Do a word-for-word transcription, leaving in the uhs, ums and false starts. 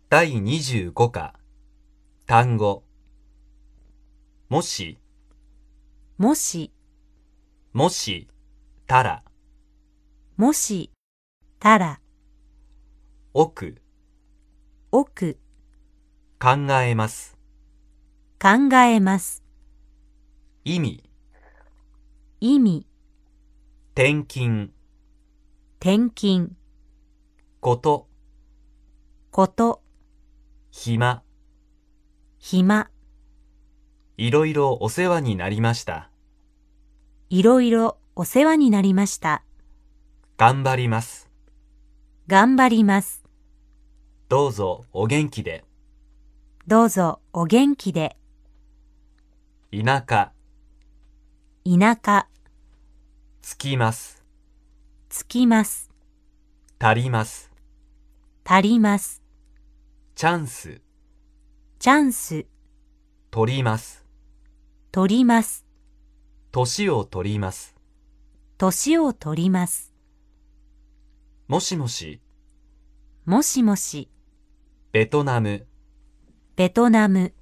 だいにじゅうご課単語もしもし、 もしたらもしたら、 奥奥、 考えます考えます。 意味意味、 転勤転勤、 ことこと、 暇暇、 いろいろお世話になりましたいろいろお世話になりました。 頑張ります頑張ります。 どうぞお元気でどうぞお元気で。 田舎田舎、 つきますつきます。 足ります足ります。 チャンスチャンス、 取ります取ります。 年を取ります年を取ります。 もしもしもしもし、 ベトナムベトナム。